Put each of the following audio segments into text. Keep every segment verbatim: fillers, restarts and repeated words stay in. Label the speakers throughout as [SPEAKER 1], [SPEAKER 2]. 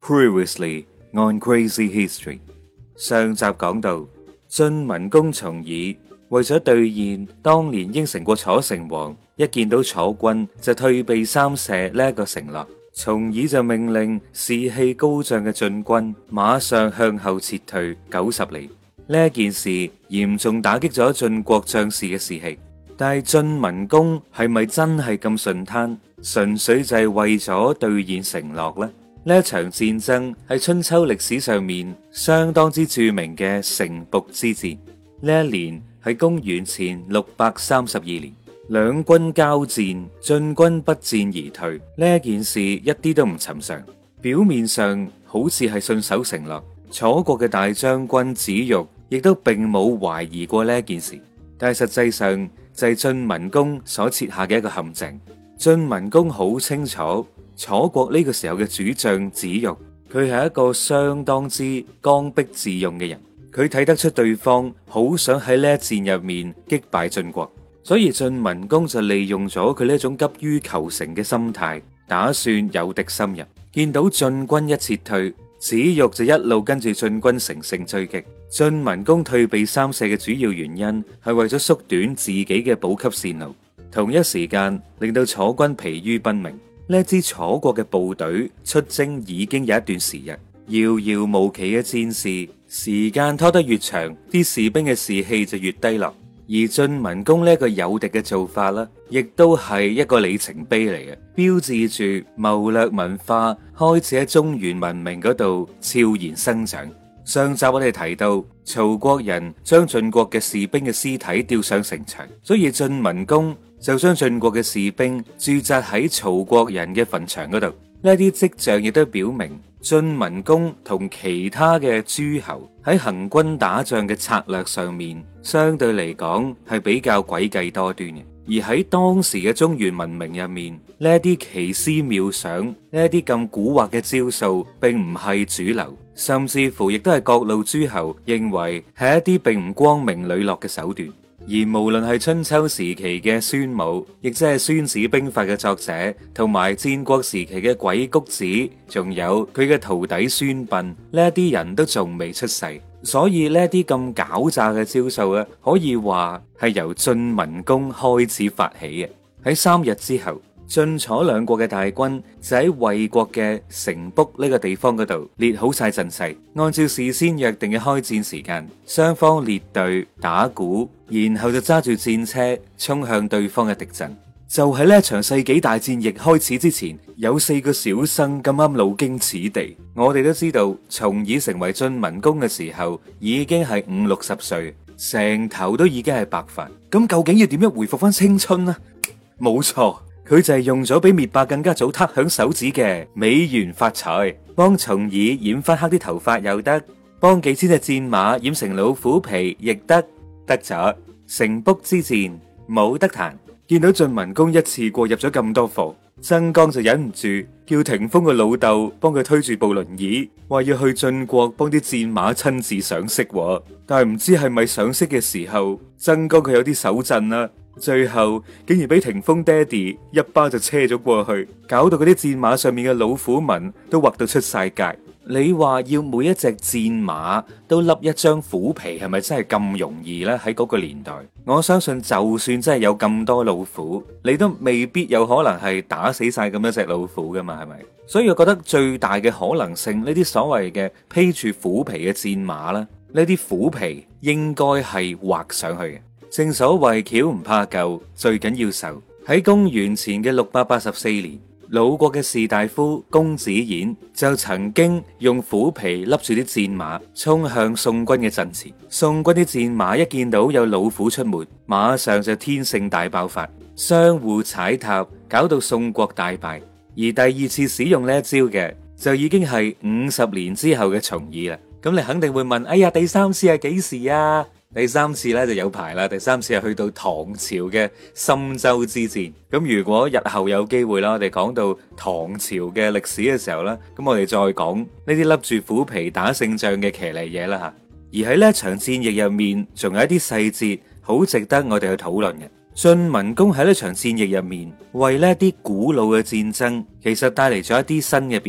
[SPEAKER 1] Previously on Crazy History， 上集講到晉文公重耳為咗兌現當年應承過楚成王，一見到楚軍就退避三舍呢一個承諾，重耳就命令士氣高漲嘅晉軍馬上向後撤退九十里。呢一件事嚴重打擊咗晉國將士嘅士氣，但係晉文公係咪真係咁順攤，純粹就係為咗兌現承諾呢？呢一場戰爭係春秋歷史上面相當之著名嘅城濮之戰。呢一年係公元前六百三十二年，兩軍交戰，晉軍不戰而退。呢一件事一啲都唔尋常，表面上好似係信守承諾，楚國嘅大將軍子玉亦都並冇懷疑過呢一件事，但係實際上就係晉文公所設下嘅一個陷阱。晉文公好清楚楚國呢個時候嘅主將子玉，佢係一個相當之剛愎自用嘅人，佢睇得出對方好想喺呢一戰入面擊敗晉國，所以晉文公就利用咗佢呢種急於求成嘅心態，打算誘敵深入。見到晉軍一撤退，子玉就一路跟住晉軍乘勝追擊。晉文公退避三舍嘅主要原因係為咗縮短自己嘅補給線路，同一時間令到楚軍疲於奔命。呢支楚國嘅部隊出征已經有一段時日，遙遙無期嘅戰事，時間拖得越長，啲士兵嘅士氣就越低落。而晉文公呢一個誘敵嘅做法啦，亦都係一個里程碑嚟嘅，標誌住謀略文化開始喺中原文明嗰度悄然生長。上集我哋提到，曹國人將晉國嘅士兵嘅屍體吊上城牆，所以晉文公就將晉國嘅士兵駐紮喺曹國人嘅墳場嗰度。呢啲跡象亦都表明晉文公同其他嘅諸侯喺行軍打仗嘅策略上面，相對嚟講係比較詭計多端嘅。而喺當時嘅中原文明入面，呢一啲奇思妙想，呢一啲咁蠱惑嘅招數，並唔係主流，甚至乎亦都係各路諸侯認為係一啲並唔光明磊落嘅手段。而無論係春秋時期嘅孫武，亦即係《孫子兵法》嘅作者，同埋戰國時期嘅鬼谷子，仲有佢嘅徒弟孫臏，呢一啲人都仲未出世，所以呢一啲咁狡詐嘅招數咧，可以話係由晉文公開始發起嘅。喺三日之後，晉楚兩國嘅大軍就喺魏國嘅城濮呢個地方嗰度列好晒陣勢，按照事先約定嘅開戰時間，雙方列隊打鼓，然後就揸住戰車衝向對方嘅敵陣。就喺呢一場世紀大戰役開始之前，有四個小生咁啱路經此地。我哋都知道，重耳成為晉文公嘅時候已經係五六十歲，成頭都已經係白髮。咁究竟要點樣回復翻青春呢？冇錯。佢就係用咗比滅霸更加早撻響手指嘅美源髮材，幫重耳染翻黑啲頭髮又得，幫幾千隻戰馬染成老虎皮亦得，得咗。城濮之戰冇得彈。見到晉文公一次過入咗咁多貨，曾江就忍唔住叫霆鋒嘅老豆幫佢推住部輪椅，話要去晉國幫啲戰馬親自賞識。但係唔知係咪賞識嘅時候，曾江佢有啲手震啦。最後竟然俾霆鋒爹哋一巴就車咗過去，搞到嗰啲戰馬上面嘅老虎紋都畫到出晒界。你話要每一隻戰馬都笠一張虎皮，係咪真係咁容易呢？喺嗰個年代，我相信就算真係有咁多老虎，你都未必有可能係打死晒咁多隻老虎噶嘛，係咪？所以我覺得最大嘅可能性，呢啲所謂嘅披住虎皮嘅戰馬啦，呢啲虎皮應該係畫上去嘅。正所謂橋唔怕舊，最緊要受。喺公元前嘅六百八十四年，魯國嘅士大夫公子偃就曾經用虎皮笠住啲戰馬，衝向宋軍嘅陣前。宋軍啲戰馬一見到有老虎出沒，馬上就天性大爆發，相互踩踏，搞到宋國大敗。而第二次使用呢一招嘅，就已經係五十年之後嘅重耳啦。咁你肯定會問：哎呀，第三次係幾時啊？第三次咧就有排啦，第三次係去到唐朝嘅深州之戰。咁如果日後有機會啦，我哋講到唐朝嘅歷史嘅時候咧，咁我哋再講呢啲笠住虎皮打勝仗嘅騎呢嘢啦吓。而喺呢一場戰役入面，仲有一啲細節好值得我哋去討論嘅。晉文公喺呢場戰役入面，為呢啲古老嘅戰爭，其實帶嚟咗一啲新嘅變化。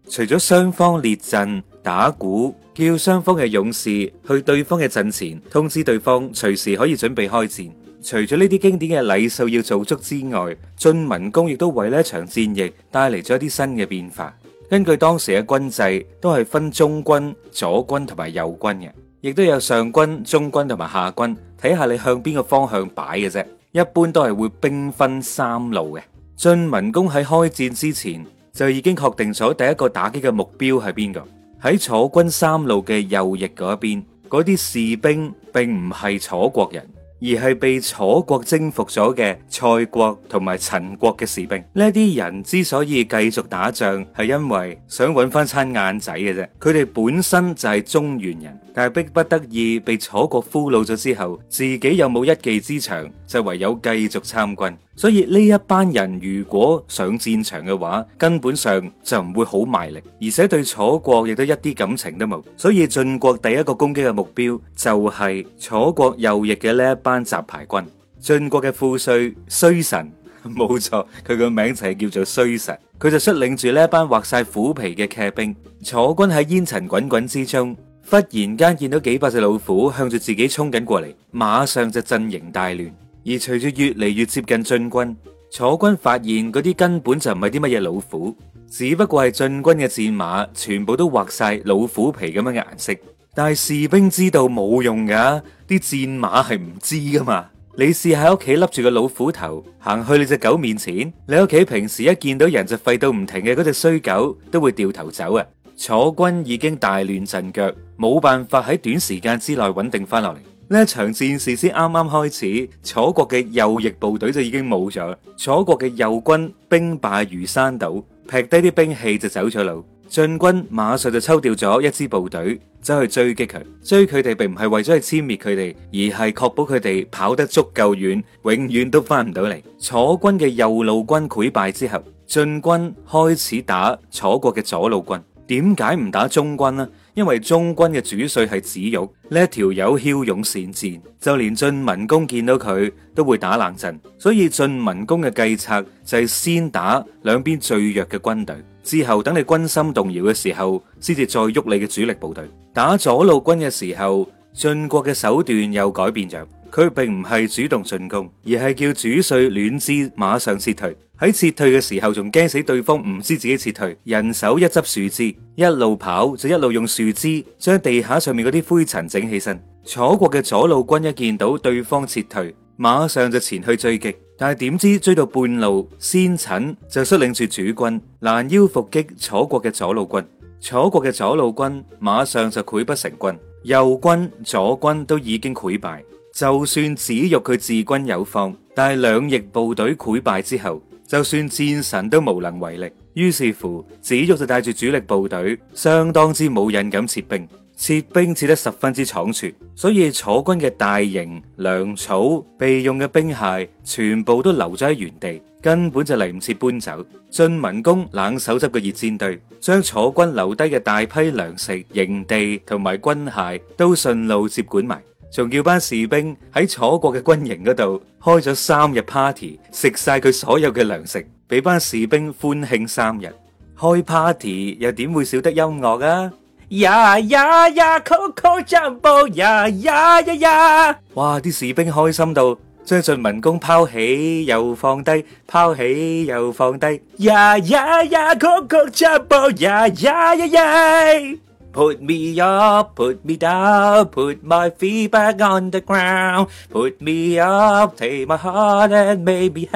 [SPEAKER 1] 除咗雙方列陣打鼓，叫雙方嘅勇士去對方嘅陣前，通知對方隨時可以準備開戰。除咗呢啲經典嘅禮數要做足之外，晉文公亦都為呢一場戰役帶嚟咗一啲新嘅變化。根據當時嘅軍制，都係分中軍、左軍同埋右軍嘅，亦都有上軍、中軍同埋下軍，睇下你向邊個方向擺嘅啫。一般都係會兵分三路嘅。晉文公喺開戰之前就已經確定咗第一個打擊嘅目標係邊個。喺楚軍三路嘅右翼嗰一邊，嗰啲士兵並唔係楚國人，而係被楚國征服咗嘅蔡國同埋陳國嘅士兵。呢啲人之所以繼續打仗，係因為想揾翻餐晏仔嘅啫。佢哋本身就係中原人，但係逼不得已被楚國俘虜咗之後，自己又冇一技之長，就唯有繼續參軍。所以呢一班人如果上戰場嘅話，根本上就唔會好賣力，而且對楚國亦都一啲感情都冇。所以晉國第一個攻擊嘅目標就係楚國右翼嘅呢一班雜牌軍。晉國嘅副帥衰臣，冇錯，佢個名就係叫做衰臣，佢就率領住呢一班畫晒虎皮嘅騎兵。楚軍喺煙塵滾滾之中，忽然間見到幾百隻老虎向住自己衝緊過嚟，馬上就陣營大亂。而隨住越嚟越接近晉軍，楚軍發現嗰啲根本就唔係啲乜嘢老虎，只不過係晉軍嘅戰馬全部都畫晒老虎皮咁樣嘅顏色。但係士兵知道冇用噶，啲戰馬係唔知噶嘛。你試喺屋企笠住個老虎頭行去你隻狗面前，你屋企平時一見到人就吠到唔停嘅嗰隻衰狗都會掉頭走啊。楚軍已經大亂陣腳，冇辦法喺短時間之內穩定翻落嚟。呢一場戰事先啱啱開始，楚國嘅右翼部隊就已經冇咗，楚國嘅右軍兵敗如山倒，劈低啲兵器就走咗路。晉軍馬上就抽調咗一支部隊走去追擊佢，追佢哋並唔係為咗去殲滅佢哋，而係確保佢哋跑得足夠遠，永遠都翻唔到嚟。楚軍嘅右路軍潰敗之後，晉軍開始打楚國嘅左路軍。點解唔打中軍呢？因為中軍嘅主帥係子玉，呢一條友驍勇善戰，就連晉文公見到佢都會打冷震。所以晉文公嘅計策就係先打兩邊最弱嘅軍隊，之後等你軍心動搖嘅時候，先至再喐你嘅主力部隊。打左路軍嘅時候，晉國嘅手段又改變咗，佢並唔係主動進攻，而係叫主帥欒枝馬上撤退。喺撤退嘅時候，仲驚死對方唔知自己撤退，人手一執樹枝，一路跑就一路用樹枝將地下上面嗰啲灰塵整起身。楚國嘅左路軍一見到對方撤退，馬上就前去追擊，但係點知追到半路，先軫就率領住主軍攔腰伏擊楚國嘅左路軍。楚國嘅左路軍馬上就潰不成軍，右軍左軍都已經潰敗。就算子玉佢自軍有方，但係兩翼部隊潰敗之後，就算戰神都無能為力。於是乎，子玉就帶住主力部隊，相當之冇癮咁撤兵，撤兵撤得十分之倉促。所以楚軍嘅大營、糧草、備用嘅兵械，全部都留咗喺原地，根本就嚟唔切搬走。晉文公冷手執個熱煎堆，將楚軍留低嘅大批糧食、營地同埋軍械都順路接管埋。仲叫班士兵喺楚國嘅軍營嗰度開咗三日 party， 食晒佢所有嘅糧食，俾班士兵歡慶三日。開 party 又點會少得音樂啊？呀呀呀 ，Coco Jumbo 呀呀呀呀！哇！啲士兵開心到將晉文公拋起又放低，拋起又放低。呀呀呀 ，Coco Jumbo 呀呀呀呀！ Put me up, put me down, put my feet back on the ground. Put me up, take my heart and make me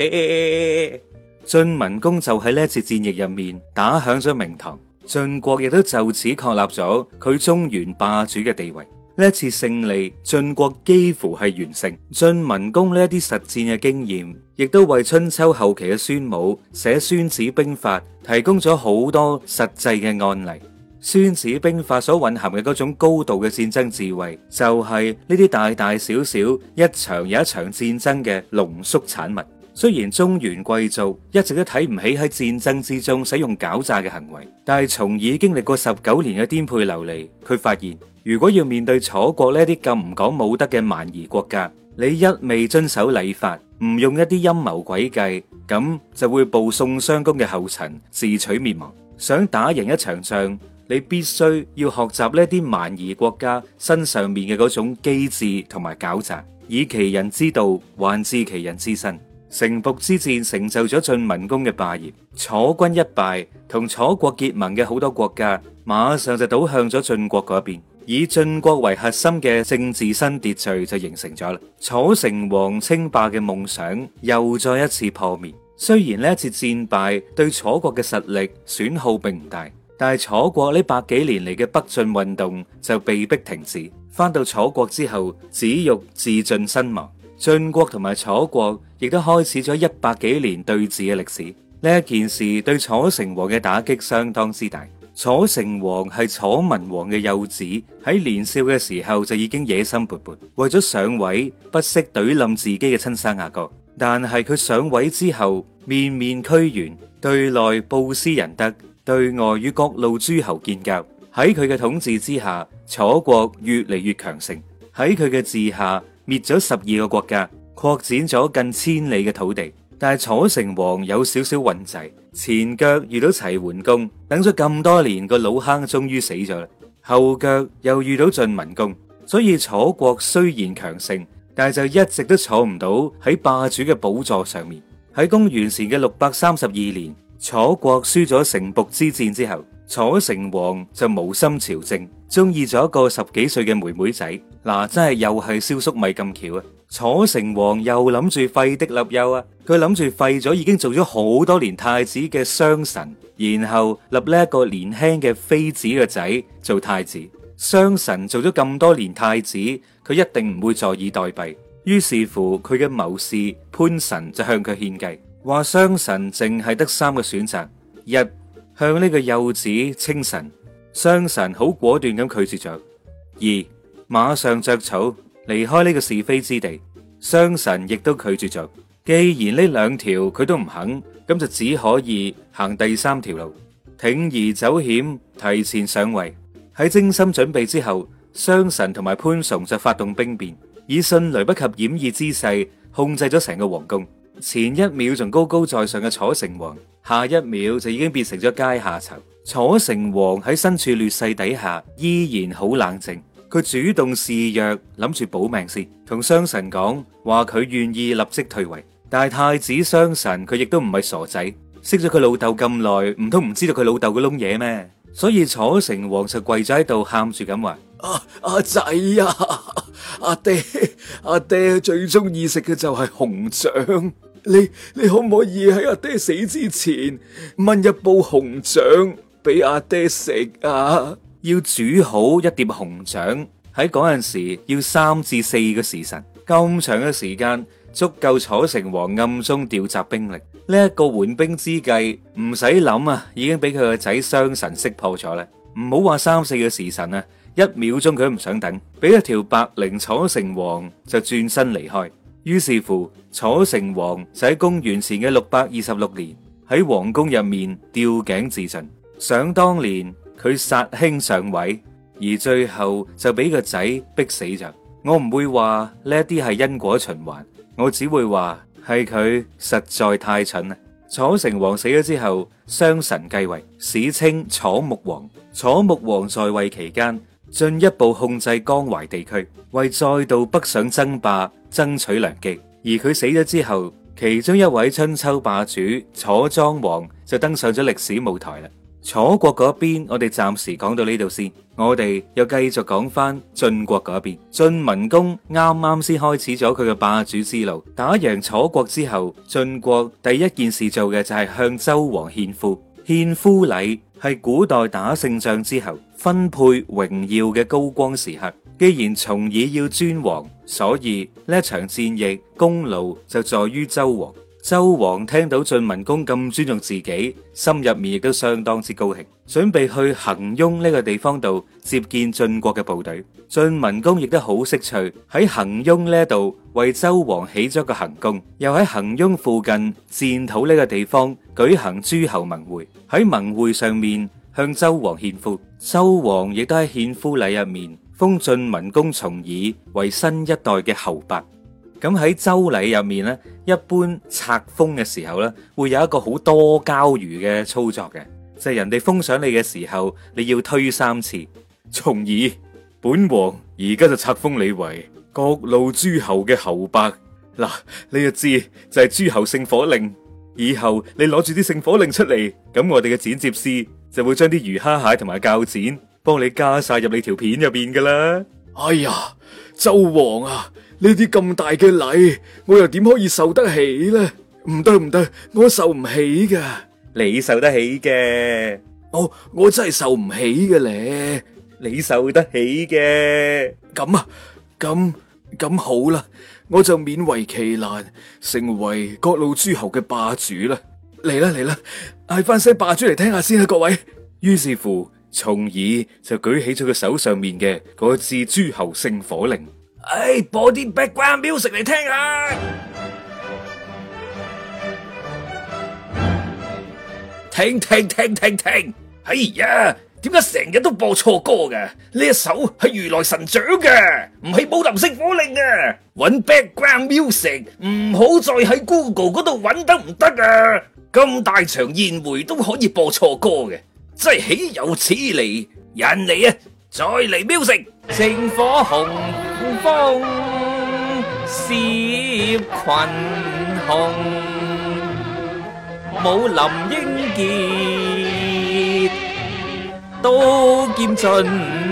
[SPEAKER 1] happy. 晉文公就喺呢一次戰役入面打響咗名堂，晉國亦都就此確立咗佢中原霸主嘅地位。呢一次勝利，晉國幾乎係完勝。晉文公呢一啲實戰嘅經驗，亦都為春秋後期嘅孫武寫《孫子兵法》提供咗好多實際嘅案例。孫子兵法所蘊含嘅嗰種高度嘅戰爭智慧，就係呢啲大大小小一場又一場戰爭嘅濃縮產物。雖然中原貴族一直都睇唔起喺戰爭之中使用狡詐嘅行為，但係從已經歷過十九年嘅顛沛流離，佢發現如果要面對楚國呢啲咁唔講武德嘅蠻夷國家，你一味遵守禮法，唔用一啲陰謀詭計，咁就會步宋襄公嘅後塵，自取滅亡。 想打贏一場仗，你必須要學習呢啲蠻夷國家身上面嘅嗰種機智同埋狡詐，以其人之道還治其人之身。城濮之戰成就咗晉文公嘅霸業，楚軍一敗，同楚國結盟嘅好多國家馬上就倒向咗晉國嗰邊，以晉國為核心嘅政治新秩序就形成咗啦。楚成王稱霸嘅夢想又再一次破滅。雖然呢一次戰敗對楚國嘅實力損耗並唔大，但係楚國呢百幾年嚟嘅北進運動就被迫停止。翻到楚國之後，子玉自盡身亡。晉國同埋楚國亦都開始咗一百幾年對峙嘅歷史。呢一件事對楚成王嘅打擊相當之大。楚成王係楚文王嘅幼子，喺年少嘅時候就已經野心勃勃，為咗上位不惜懟冧自己嘅親生阿哥。但係佢上位之後，面面俱圓，對內布施仁德，對外與各路諸侯建交。喺佢嘅統治之下，楚國越嚟越強盛。喺佢嘅治下，滅咗十二個國家，擴展咗近千里嘅土地。但係楚成王有少少運滯，前腳遇到齊桓公，等咗咁多年個老坑終於死咗啦。後腳又遇到晉文公，所以楚國雖然強盛，但係就一直都坐唔到喺霸主嘅寶座上面。喺公元前嘅六百三十二年，楚國輸咗城濮之戰之後，楚成王就無心朝政，中意咗一個十幾歲嘅妹妹仔。嗱、啊，真係又係燒粟米咁巧啊！楚成王又諗住廢嫡立幼啊，佢諗住廢咗已經做咗好多年太子嘅商臣，然後立呢一個年輕嘅妃子嘅仔做太子。商臣做咗咁多年太子，佢一定唔會坐以待斃。於是乎，佢嘅謀士潘神就向佢獻計，話商臣淨係得三個選擇：一，向呢個幼子稱臣，商臣好果斷咁拒絕咗；二，馬上着草離開呢個是非之地，商臣亦都拒絕咗。既然呢兩條佢都唔肯，咁就只可以行第三條路，鋌而走險，提前上位。喺精心準備之後，商臣同埋潘崇就發動兵變，以迅雷不及掩耳之勢控制咗成個皇宮。前一秒仲高高在上嘅楚成王，下一秒就已經變成咗階下囚。楚成王喺身處劣勢底下，依然好冷靜。佢主動示弱，諗住保命先，同商臣講話佢願意立即退位。但係太子商臣佢亦都唔係傻仔，識咗佢老豆咁耐，唔通唔知道佢老豆嘅窿嘢咩？所以楚成王就跪咗喺度，喊住咁話：阿阿仔啊，阿爹阿爹最中意食嘅就係紅掌，你你可唔可以喺阿爹死之前燜一煲紅掌俾阿爹食啊？要煮好一碟紅掌，喺嗰陣時要三至四個時辰，咁長嘅時間足夠楚成王暗中調集兵力。呢一個緩兵之計唔使諗啊，已經俾佢個仔商臣識破咗啦。唔好話三四個時辰啊，一秒鐘佢都唔想等，俾一條白绫楚成王就轉身離開。於是乎，楚成王就喺公元前嘅六百二十六年喺皇宮入面吊頸自盡。想當年佢殺兄上位，而最後就俾個仔逼死咗。我唔會話呢一啲係因果循環，我只會話係佢實在太蠢啦。楚成王死咗之後，商臣繼位，史稱楚穆王。楚穆王在位期間，進一步控制江淮地區，為再度北上爭霸爭取良機。而佢死咗之後，其中一位春秋霸主楚莊王就登上咗歷史舞台啦。楚國嗰邊，我哋暫時講到呢度先，我哋又繼續講翻晉國嗰邊。晉文公啱啱先開始咗佢嘅霸主之路，打贏楚國之後，晉國第一件事做嘅就係向周王獻夫。獻夫禮係古代打勝仗之後分配榮耀嘅高光時刻。既然重耳要尊王，所以呢一場戰役功勞就在於周王。周王聽到晉文公咁尊重自己，心入面亦都相當之高興，準備去衡雍呢個地方度接見晉國嘅部隊。晉文公亦都好識趣，喺衡雍呢度為周王起咗個行宮，又喺衡雍附近戰土呢個地方舉行諸侯盟會，喺盟會上面向周王獻夫。周王亦都喺獻夫禮入面封晉文公重耳為新一代嘅侯伯。咁喺周禮入面咧，一般冊封嘅時候咧，會有一個好多交魚嘅操作嘅。 就係人哋封賞你嘅時候，你要推三次。重耳，本王而家就冊封你為各路諸侯嘅侯伯。嗱，你就知就係諸侯聖火令。以後你攞住啲聖火令出嚟，咁我哋嘅剪接師就會將啲魚蝦蟹同埋鉸剪幫你加晒入你條片入邊噶啦。
[SPEAKER 2] 哎呀，周王啊，呢啲咁大嘅禮，我又點可以受得起呢？唔得唔得，我受唔起噶。
[SPEAKER 1] 你受得起嘅，
[SPEAKER 2] 我我真係受唔起嘅咧。
[SPEAKER 1] 你受得起嘅，
[SPEAKER 2] 咁啊，咁咁好啦，我就勉為其難，成為各路諸侯嘅霸主啦。嚟啦嚟啦，嗌翻聲霸主嚟聽下先啊，各位。
[SPEAKER 1] 於是乎，重耳就舉起咗佢手上面嘅嗰支諸侯聖火令。
[SPEAKER 2] 哎，播啲 background music 嚟聽下。停停停停停！哎呀，點解成日都播錯歌嘅？呢一首係如來神掌嘅，唔係武林聖火令啊！搵 background music 唔好再喺 Google 嗰度搵得唔得啊？咁大場宴會都可以播錯歌嘅，真係豈有此理！人嚟啊，再嚟 music！
[SPEAKER 3] 聖火紅風攝群雄，武林英傑，刀劍盡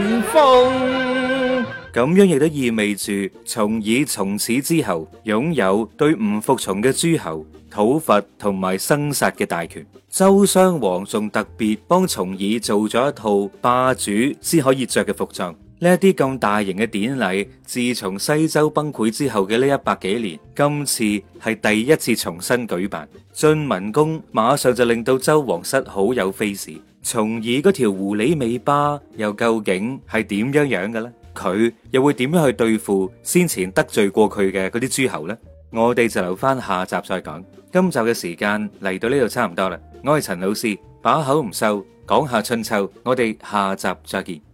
[SPEAKER 3] 風。
[SPEAKER 1] 咁樣亦都意味住重耳從此之後擁有對唔服從嘅諸侯討伐同埋生殺嘅大權。周襄王仲特別幫重耳做咗一套霸主先可以着嘅服裝。呢一啲咁大型嘅典禮，自從西周崩潰之後嘅呢一百幾年，今次係第一次重新舉辦。晉文公馬上就令到周王室好有 face。重耳嗰條狐狸尾巴又究竟係點樣樣嘅咧？佢又會點樣去對付先前得罪過佢嘅嗰啲諸侯呢？我哋就留翻下集再講。今集嘅時間嚟到呢度差唔多啦。我係陳老師，把口唔收，講下春秋。我哋下集再見。